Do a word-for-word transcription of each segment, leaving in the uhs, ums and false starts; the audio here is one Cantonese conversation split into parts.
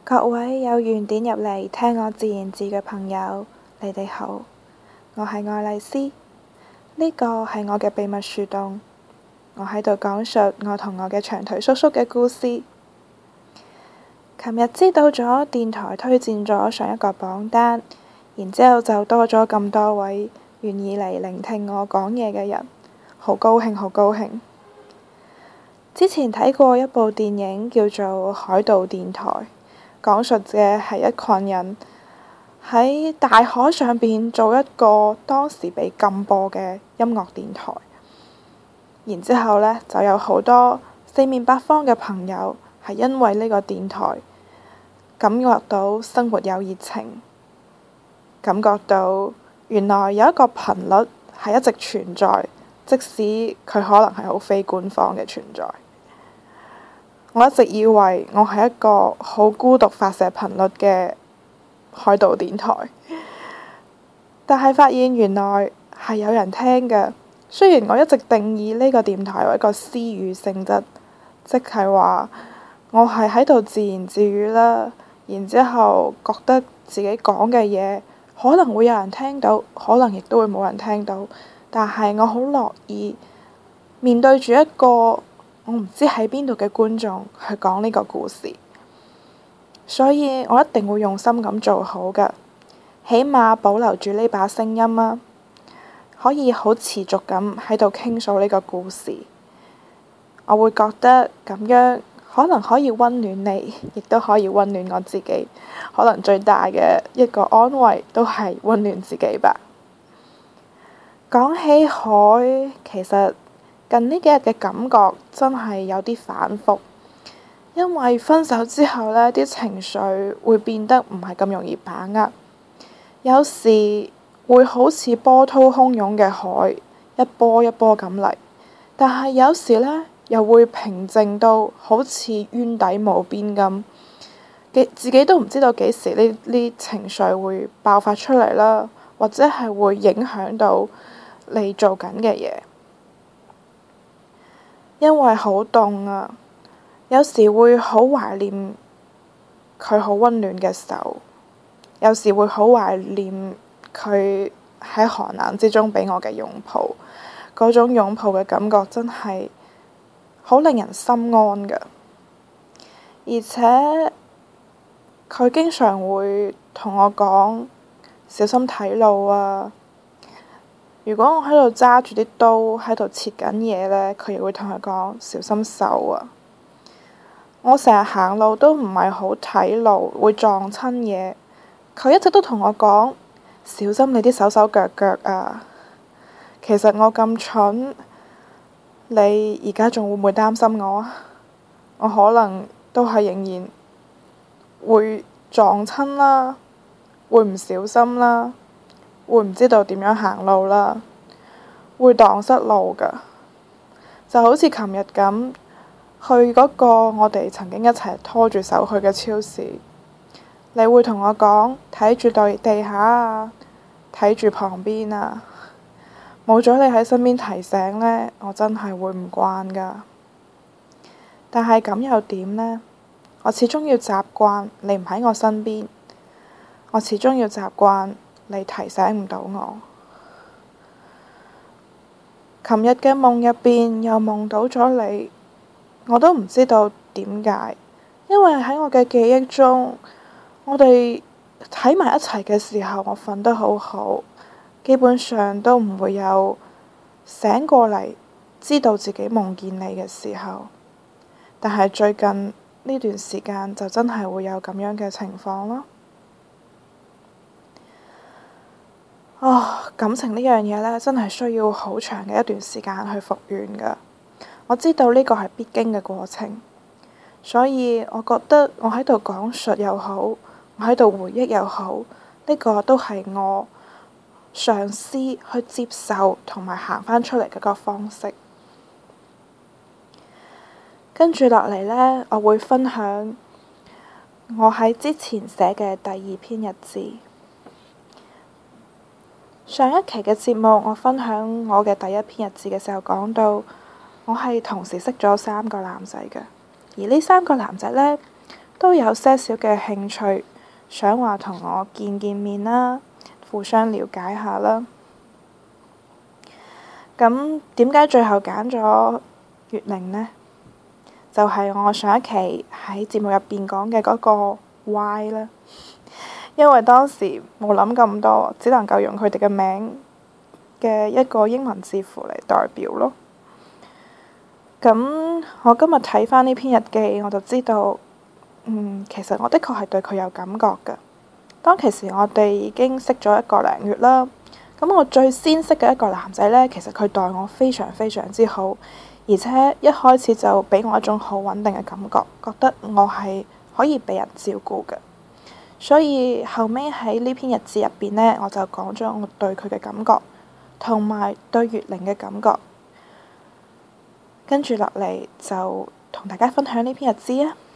各位有緣點入嚟聽我自言自嘅朋友，你哋好，我係愛麗絲，呢個係我嘅秘密樹洞，我喺度講述我同我嘅長腿叔叔嘅故事。琴日知道咗電台推薦咗上一個榜單，然之後就多咗咁多位願意嚟聆聽我講嘢嘅人，好高興，好高興。之前睇過一部電影叫做《海盜電台》，講述嘅係一群人喺大海上邊做一個當時被禁播嘅音樂電台，然之後呢，就有好多四面八方嘅朋友係因為呢個電台感覺到生活有熱情，感覺到原來有一個頻率係一直存在，即使佢可能係好非官方嘅存在。我一直以為我係一個好孤獨發射頻率嘅海盜電台，但係發現原來係有人聽嘅。雖然我一直定義呢個電台為一個私語性質，即係話我係喺度自言自語啦，然之後覺得自己講嘅嘢可能會有人聽到，可能亦都會冇人聽到，但係我好樂意面對住一個我唔知喺邊度嘅觀眾去講呢個故事，所以我一定會用心咁做好㗎，起碼保留住呢把聲音啊，可以好持續咁喺度傾訴呢個故事。我會覺得咁樣可能可以溫暖你，亦都可以溫暖我自己。可能最大嘅一個安慰都係溫暖自己吧。講起海，其實近呢幾日嘅感覺真係有啲反覆，因為分手之後呢啲情緒會變得唔係咁容易把握，有時會好似波濤洶湧嘅海，一波一波咁嚟，但係有時呢又會平靜到好似淵底無邊咁，自己都唔知道幾時呢啲情緒會爆發出嚟啦，或者係會影響到你做緊嘅嘢。因為好凍啊，有時會好懷念佢好溫暖嘅手，有時會好懷念佢喺寒冷之中俾我嘅擁抱，嗰種擁抱嘅感覺真係好令人心安㗎。而且佢經常會同我講小心睇路啊。如果我喺度揸住啲刀喺度切緊嘢呢，佢亦會同佢講小心手啊。我成日行路都唔係好睇路，會撞親嘢。佢一直都同我講小心你啲手手腳腳啊。其實我咁蠢，你而家仲會唔會擔心我啊？我可能都係仍然會撞親啦，會唔小心啦。會唔知道點樣行路啦，會蕩失路㗎，就好似琴日咁去嗰個我哋曾經一齊拖住手去嘅超市，你會同我講睇住對地下啊，睇住旁邊啊，冇咗你喺身邊提醒呢，我真係會唔慣㗎。但係咁又點呢？我始終要習慣你唔喺我身邊，我始終要習慣你提醒唔到我。琴日嘅夢入邊又夢到咗你，我都唔知道點解，因為喺我嘅記憶中，我哋喺埋一齊嘅時候，我瞓得好好，基本上都唔會有醒過嚟知道自己夢見你嘅時候。但係最近呢段時間就真係會有咁樣嘅情況咯。哦，感情呢樣嘢呢，真係需要好長嘅一段時間去復原㗎。我知道呢個係必經嘅過程，所以我覺得我喺度講述又好，我喺度回憶又好，呢個都係我嘗試去接受同埋行返出嚟嘅個方式。跟住落嚟呢，我會分享我喺之前寫嘅第二篇日誌。上一期嘅節目，我分享我嘅第一篇日誌嘅時候講到，我係同時識咗三個男仔嘅，而呢三個男仔呢， 都有些少嘅興趣，想話同我見見面啦，互相了解下啦。咁點解最後揀咗月玲呢？就係我上一期喺節目入邊講嘅嗰個 Y 啦。因為當時冇諗咁多，只能夠用佢哋嘅名嘅一個英文字符嚟代表咯。咁我今日睇返呢篇日記，我就知道，嗯，其實我的確係對佢有感覺㗎。當其時我哋已經識咗一個零月啦。咁我最先識嘅一個男仔呢，其實佢待我非常非常之好，而且一開始就俾我一種好穩定嘅感覺，覺得我係可以俾人照顧嘅。所以後尾喺呢篇日誌入邊呢，我就講咗我對佢嘅感覺，同埋對月玲嘅感覺。跟住落嚟就同大家分享呢篇日誌啊，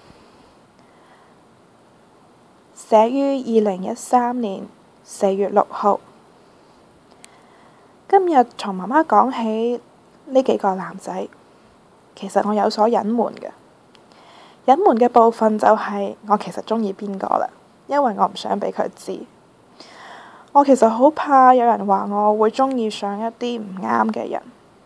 寫於二零一三年四月六號。今日同媽媽講起呢幾個男仔，其實我有所隱瞞嘅。隱瞞嘅部分就係我其實鍾意邊個啦，因為我唔想俾佢知。我其實好怕有人話我會鍾意上一啲唔啱嘅人，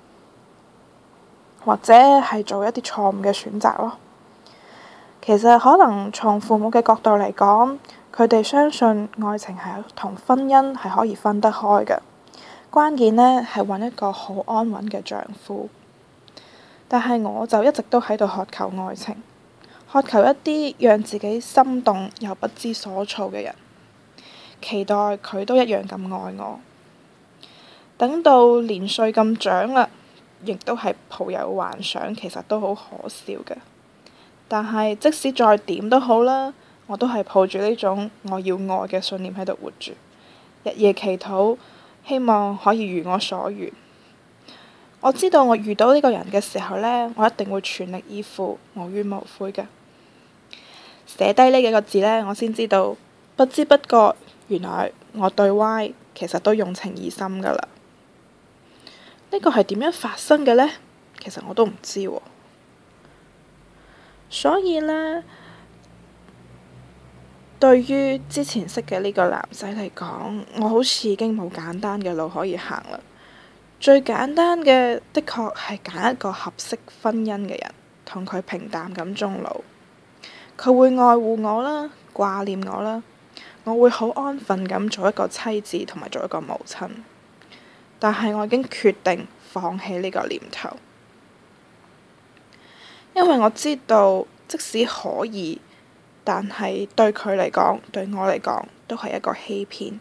或者係做一啲錯誤嘅選擇咯。其實可能從父母嘅角度嚟講，佢哋相信愛情係同婚姻係可以分得開嘅。關鍵呢係揾一個好安穩嘅丈夫，但係我就一直都喺度渴求愛情，渴求一啲讓自己心動又不知所措嘅人，期待佢都一樣咁愛我。等到年歲咁長啦，亦都係抱有幻想，其實都好可笑嘅。但係即使再點都好啦，我都係抱住呢種我要愛嘅信念喺度活住，日夜祈禱。希望可以如我所願。我知道我遇到呢個人嘅時候呢，我一定會全力以赴，無怨無悔嘅。寫低呢幾個字呢，我先知道，不知不覺，原來我對 Y 其實都用情意深噶啦。呢個係點樣發生嘅呢？其實我都唔知喎。所以呢，對於之前識嘅呢個男仔嚟講，我好似已經冇簡單嘅路可以行啦。最簡單嘅，的確係揀一個合適婚姻嘅人，同佢平淡咁終老。佢會愛護我啦，掛念我啦，我會好安分咁做一個妻子同埋做一個母親。但係我已經決定放棄呢個念頭，因為我知道即使可以，但係對佢嚟講，對我嚟講，都係一個欺騙。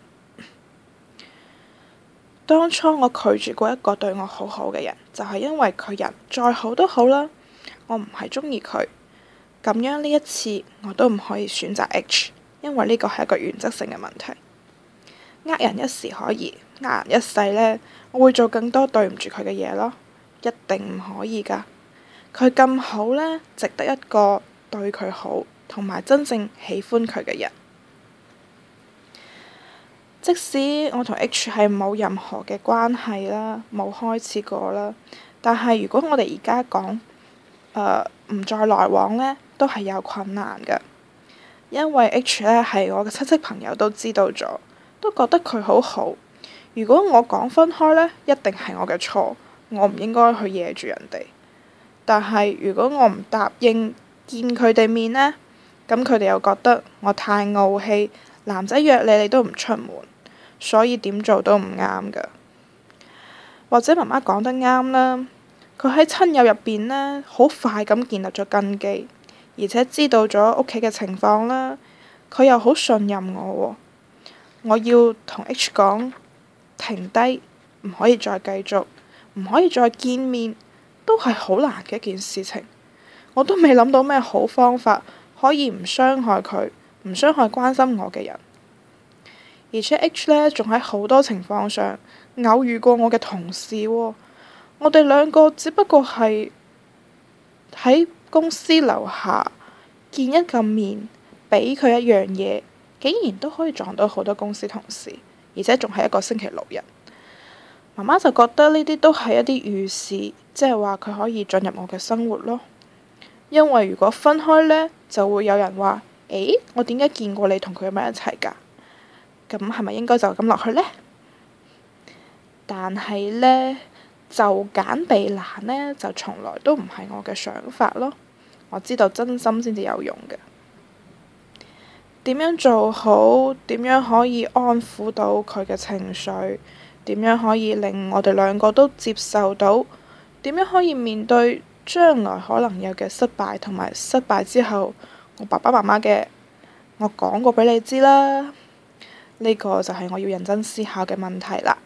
當初我拒絕過一個對我好好嘅人，就係因為佢人再好都好啦，我唔係鍾意佢。咁樣呢一次，我都唔可以選擇 H， 因為呢個係一個原則性嘅問題。呃人一時可以，呃人一世呢，我會做更多對唔住佢嘅嘢咯，一定唔可以㗎。佢咁好呢，值得一個對佢好同埋真正喜歡佢嘅人。即使我同 H 係冇任何嘅關係啦，冇開始過啦，但係如果我哋而家講誒唔再來往呢，都係有困難㗎。因為 H 呢係我嘅親戚朋友都知道咗，都覺得佢好好。如果我講分開呢，一定係我嘅錯，我唔應該去惹住人哋。但係如果我唔答應見佢哋面呢，咁佢哋又覺得我太傲氣，男仔約你你都唔出門，所以點做都唔啱㗎。或者媽媽講得啱啦，佢喺親友入邊呢，好快咁建立咗根基，而且知道咗屋企嘅情況啦，佢又好信任我喎。我要同 H 講停低，唔可以再繼續，唔可以再見面，都係好難嘅一件事情。我都未諗到咩好方法可以唔傷害佢，唔傷害關心我嘅人。而且 H 呢，仲喺好多情況上偶遇過我嘅同事喎。我哋兩個只不過係喺公司樓下見一個面，俾佢一樣嘢，竟然都可以撞到好多公司同事，而且仲係一個星期六日。媽媽就覺得呢啲都係一啲預示，即係話佢可以進入我嘅生活咯。因為如果分開呢，就會有人話誒，我點解見過你同佢咁樣一齊㗎？咁係咪應該就咁落去呢？但係呢，就簡避難呢，就從來都唔係我嘅想法咯。我知道真心先至有用嘅。點樣做好？點樣可以安撫到佢嘅情緒？點樣可以令我哋兩個都接受到？點樣可以面對將來可能有嘅失敗，同埋失敗之後我爸爸媽媽嘅，我講過俾你知啦。呢個就係我要認真思考嘅問題啦。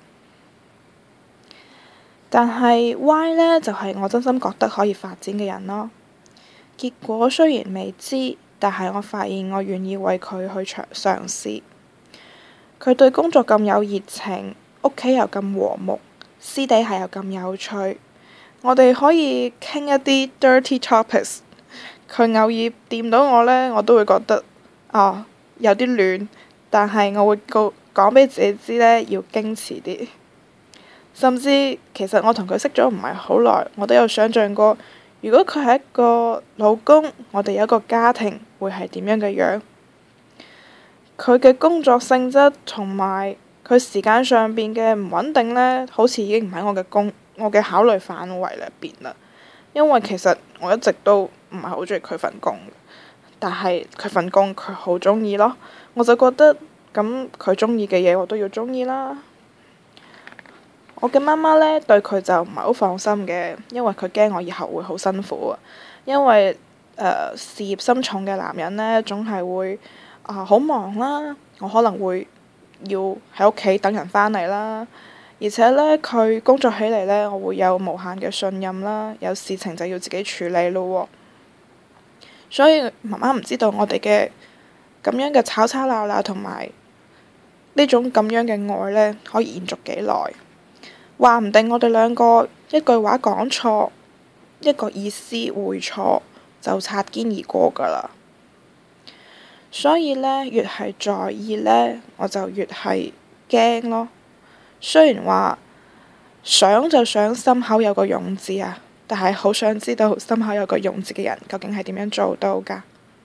但係 Y 呢，就係我真心覺得可以發展嘅人咯。結果雖然未知，但係我發現我願意為佢去嘗嘗試。佢對工作咁有熱情，屋企又咁和睦，私底下又咁有趣。我哋可以傾一啲 dirty topics。佢偶爾掂到我呢，我都會覺得哦有啲亂，但係我會告講俾自己知呢，要矜持啲。甚至其實我同佢識咗唔係好耐，我都有想像過，如果佢係一個老公，我哋有一個家庭，會係點樣嘅樣？佢嘅工作性質同埋佢時間上邊嘅唔穩定呢，好似已經唔喺我嘅工我嘅考慮範圍入邊啦。因為其實我一直都唔係好中意佢份工，但係佢份工佢好中意咯，我就覺得咁佢中意嘅嘢我都要中意啦。我嘅媽媽呢，對佢就唔係好放心嘅，因為佢驚我以後會好辛苦啊。因為誒、呃、事業心重嘅男人呢，總係會啊好、呃、忙啦，我可能會要喺屋企等人返嚟啦。而且呢，佢工作起嚟呢，我會有無限嘅信任啦，有事情就要自己處理咯。所以媽媽唔知道我哋嘅咁樣嘅吵吵鬧鬧同埋呢種咁樣嘅愛呢，可以延續幾耐？話唔定我哋兩個一句話講錯，一個意思會錯，就擦肩而過㗎啦。所以呢，越係在意呢，我就越係驚咯。雖然話想就想心口有個勇字啊，但係好想知道心口有個勇字嘅人究竟係點樣做到㗎？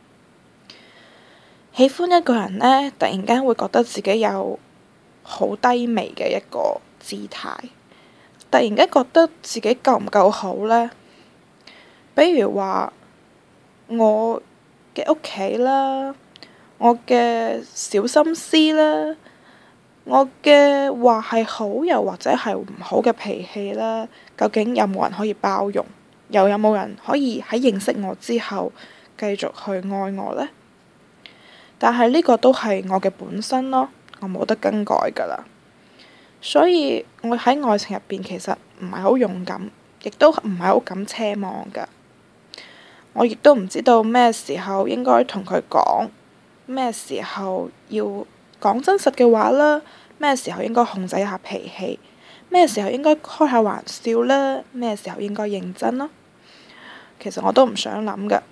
喜歡一個人呢，突然間會覺得自己有好低微嘅一個姿態。突然間覺得自己夠唔夠好呢？比如話我嘅屋企啦，我嘅小心思啦，我嘅話係好又或者係唔好嘅脾氣啦，究竟有冇人可以包容？又有冇人可以喺認識我之後繼續去愛我呢？但係呢個都係我嘅本身咯，我冇得更改㗎啦。所以我喺愛情入邊其實唔係好勇敢，亦都唔係好敢奢望㗎。我亦都唔知道咩時候應該同佢講，咩時候要講真實嘅話啦，咩時候應該控制一下脾氣，咩時候應該開下玩笑啦，咩時候應該認真咯。其實我都唔想諗㗎。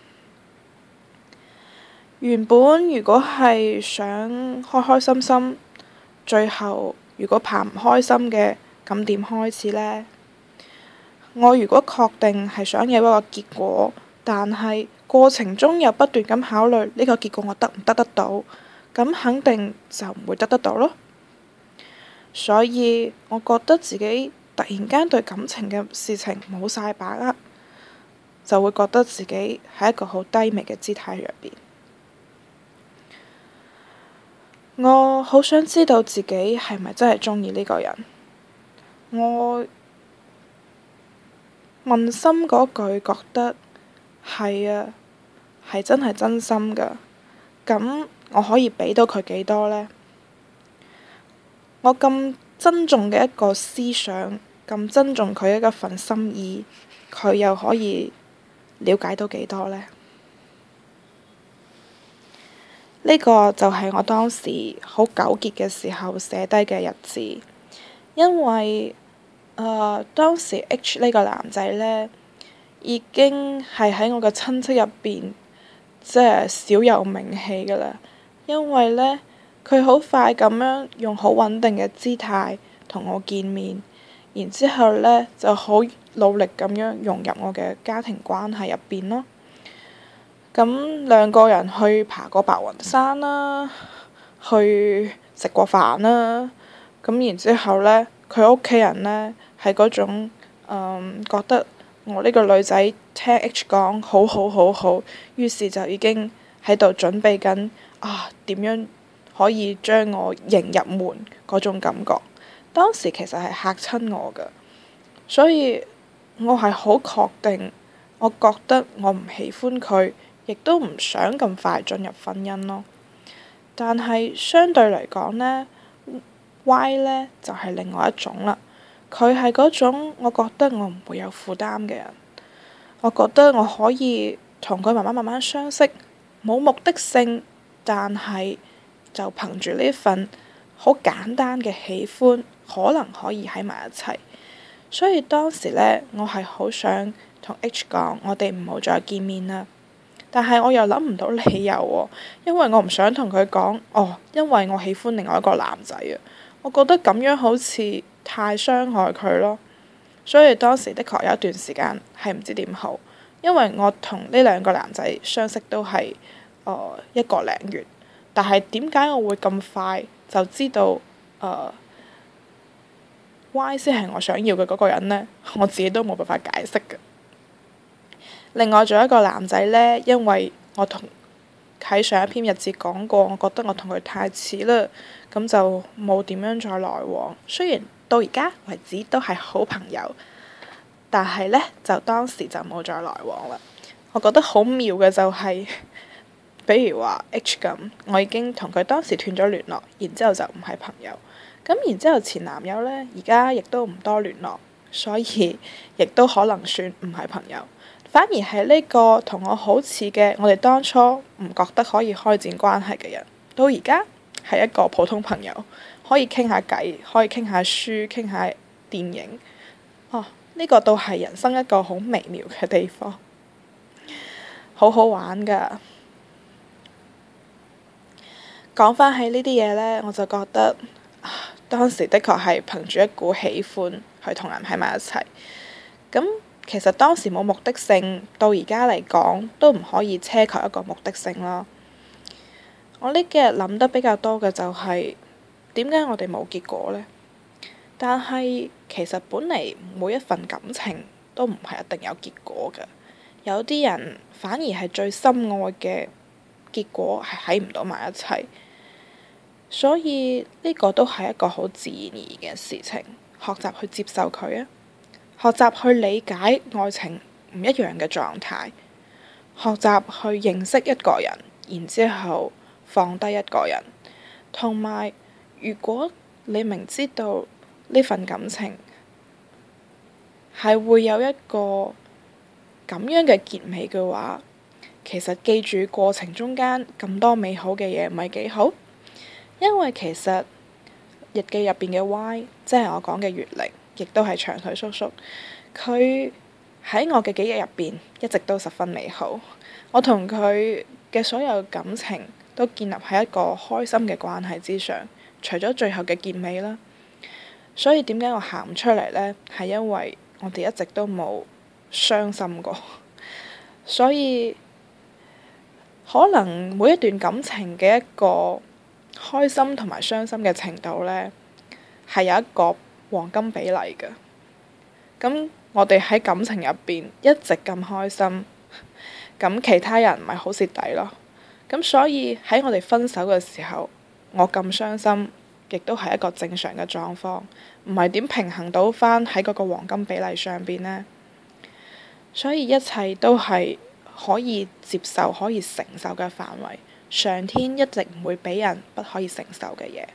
原本如果係想開開心心，最後如果怕唔開心嘅，咁點開始呢？我如果確定係想有一個結果，但係過程中又不斷咁考慮呢個結果我得唔得得到，咁肯定就唔會得得到咯。所以我覺得自己突然間對感情嘅事情冇晒把握，就會覺得自己喺一個好低微嘅姿態入邊。我好想知道自己係咪真係鍾意呢個人。我問心嗰句覺得係啊，係真係真心㗎。咁我可以俾到佢幾多呢？我咁珍重嘅一個思想，咁珍重佢一份心意，佢又可以了解到幾多呢？呢個就係我當時好糾結嘅時候寫低嘅日誌，因為誒、呃、當時 H 呢個男仔呢，已經係喺我嘅親戚入邊，即係小有名氣㗎啦。因為呢，佢好快咁樣用好穩定嘅姿態同我見面，然之後呢就好努力咁樣融入我嘅家庭關係入邊咯。 咁兩個人去爬過白雲山啦，去食過飯啦。咁然之後呢，佢屋企人呢係嗰種、嗯、覺得我呢個女仔聽 H 講好好好好，於是就已經喺度準備緊啊點樣可以將我迎入門嗰種感覺。當時其實係嚇親我㗎，所以我係好確定，我覺得我唔喜歡佢，亦都唔想咁快進入婚姻咯。但係相對嚟講呢，Y 呢就係另外一種啦。佢係嗰種我覺得我唔會有負擔嘅人，我覺得我可以同佢慢慢慢慢相識，冇目的性，但係就憑住呢份好簡單嘅喜歡，可能可以喺埋一齊。所以當時呢，我係好想同 H 講，我哋唔好再見面啦。但係我又諗唔到理由喎，因為我唔想同佢講，哦，因為我喜歡另外一個男仔啊。我覺得咁樣好似太傷害佢咯，所以當時的確有一段時間係唔知點好，因為我同呢兩個男仔相識都係、呃、一個零月，但係點解我會咁快就知道誒、呃、Y 先係我想要嘅嗰個人呢？我自己都冇辦法解釋嘅。另外仲有一個男仔呢，因為我同喺上一篇日誌講過，我覺得我同佢太似啦，咁就冇點樣再來往。雖然到而家為止都係好朋友，但係呢，就當時就冇再來往啦。我覺得好妙嘅就係、是，比如話 H 咁，我已經同佢當時斷咗聯絡，然之後就唔係朋友。咁然之後前男友呢，而家亦都唔多聯絡，所以亦都可能算唔係朋友。反而係呢個同我好似嘅，我哋當初唔覺得可以開展關係嘅人，到而家係一個普通朋友，可以傾下偈，可以傾下書，傾下電影。哦，呢個都係人生一個好微妙嘅地方，好好玩㗎。講返起呢啲嘢呢，我就覺得啊，當時的確係憑住一股喜歡去同人喺埋一齊。咁其實當時冇目的性，到而家嚟講都唔可以奢求一個目的性咯。我呢幾日諗得比較多嘅就係點解我哋冇結果呢？但係其實本嚟每一份感情都唔係一定有結果嘅，有啲人反而係最深愛嘅結果係喺唔到埋一齊，所以呢個都係一個好自然而然嘅事情，學習去接受佢啊！學習去理解愛情唔一樣嘅狀態，學習去認識一個人，然之後放低一個人，同埋如果你明知道呢份感情係會有一個咁樣嘅結尾嘅話，其實記住過程中間咁多美好嘅嘢唔係幾好，因為其實日記入邊嘅 Y， 即係我講嘅月玲，亦都係長腿叔叔，佢喺我嘅記憶入邊一直都十分美好。我同佢嘅所有感情都建立喺一個開心嘅關係之上，除咗最後嘅結尾啦。所以點解我喊唔出嚟呢？係因為我哋一直都冇傷心過，所以可能每一段感情嘅一個開心同埋傷心嘅程度呢，係有一個黃金比例嘅。咁我哋喺感情入邊一直咁開心，咁其他人咪好蝕底咯。咁所以喺我哋分手嘅時候，我咁傷心，亦都係一個正常嘅狀況，唔係點平衡到返喺嗰個黃金比例上邊呢？所以一切都係可以接受、可以承受嘅範圍。上天一直唔會俾人不可以承受嘅嘢。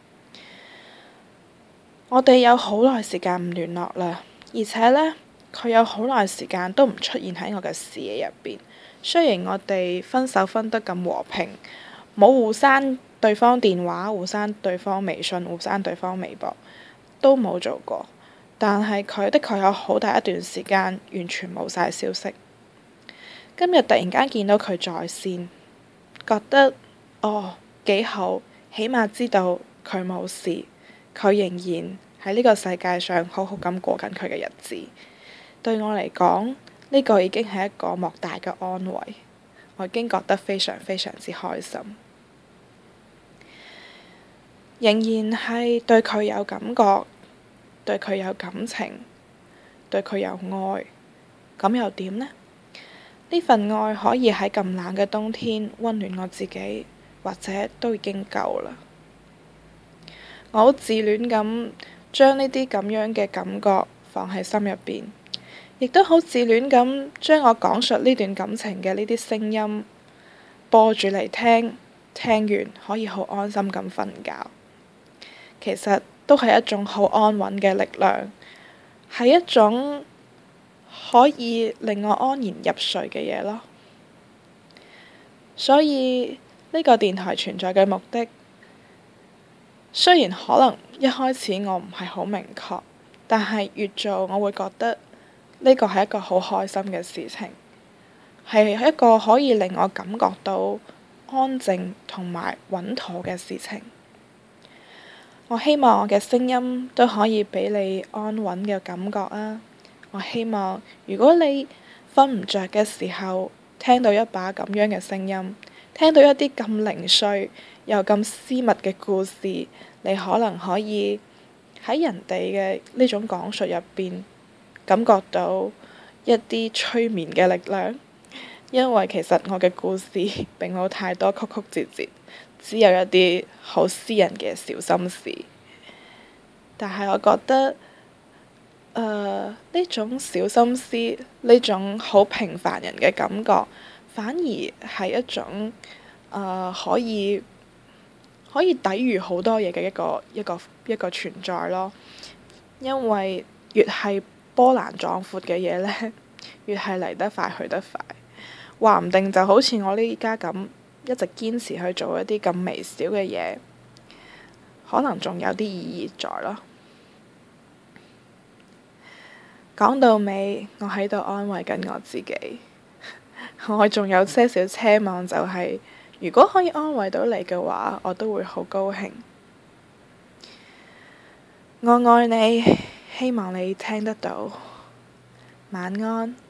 我哋有好耐時間唔聯絡啦，而且呢，佢有好耐時間都唔出現喺我嘅視野入邊。雖然我哋分手分得咁和平，冇互刪對方電話、互刪對方微信、互刪對方微博，都冇做過，但係佢的確有好大一段時間完全冇晒消息。今日突然間見到佢在線，覺得哦幾好，起碼知道佢冇事，佢仍然喺呢個世界上好好咁過緊佢嘅日子。對我嚟講，呢個已經係一個莫大嘅安慰。 我已經覺得非常非常之開心。仍然係對佢有感覺，對佢有感情，對佢有愛，咁又點呢？呢份愛可以喺咁冷嘅冬天溫暖我自己，或者都已經夠啦。我好自戀咁將呢啲咁樣嘅感覺放喺心入邊，亦都好自戀咁將我講述呢段感情嘅呢啲聲音播住嚟聽，聽完可以好安心咁瞓覺。其實都係一種好安穩嘅力量，係一種可以令我安然入睡嘅嘢咯。所以呢個電台存在嘅目的，雖然可能一開始我唔係好明確，但係越做我會覺得呢個係一個好開心嘅事情，係一個可以令我感覺到安靜同埋穩妥嘅事情。我希望我嘅聲音都可以俾你安穩嘅感覺啊！我希望如果你瞓唔着嘅時候，聽到一把咁樣嘅聲音，聽到一啲咁零碎又咁私密嘅故事，你可能可以喺人哋嘅呢種講述入邊感覺到一啲催眠嘅力量。因為其實我嘅故事並冇太多曲曲折折，只有一啲好私人嘅小心事。但係我覺得，誒呢種小心思，呢種好平凡人嘅感覺，反而係一種誒、呃、可以可以抵禦好多嘢嘅一個一個一個存在咯。因為越係波瀾壯闊嘅嘢呢，越係嚟得快去得快。話唔定就好似我呢家咁，一直堅持去做一啲咁微小嘅嘢，可能仲有啲意義在咯。講到尾，我喺度安慰緊我自己，我仲有些少奢望，就係如果可以安慰到你嘅話，我都會好高興。我愛你，希望你聽得到。晚安。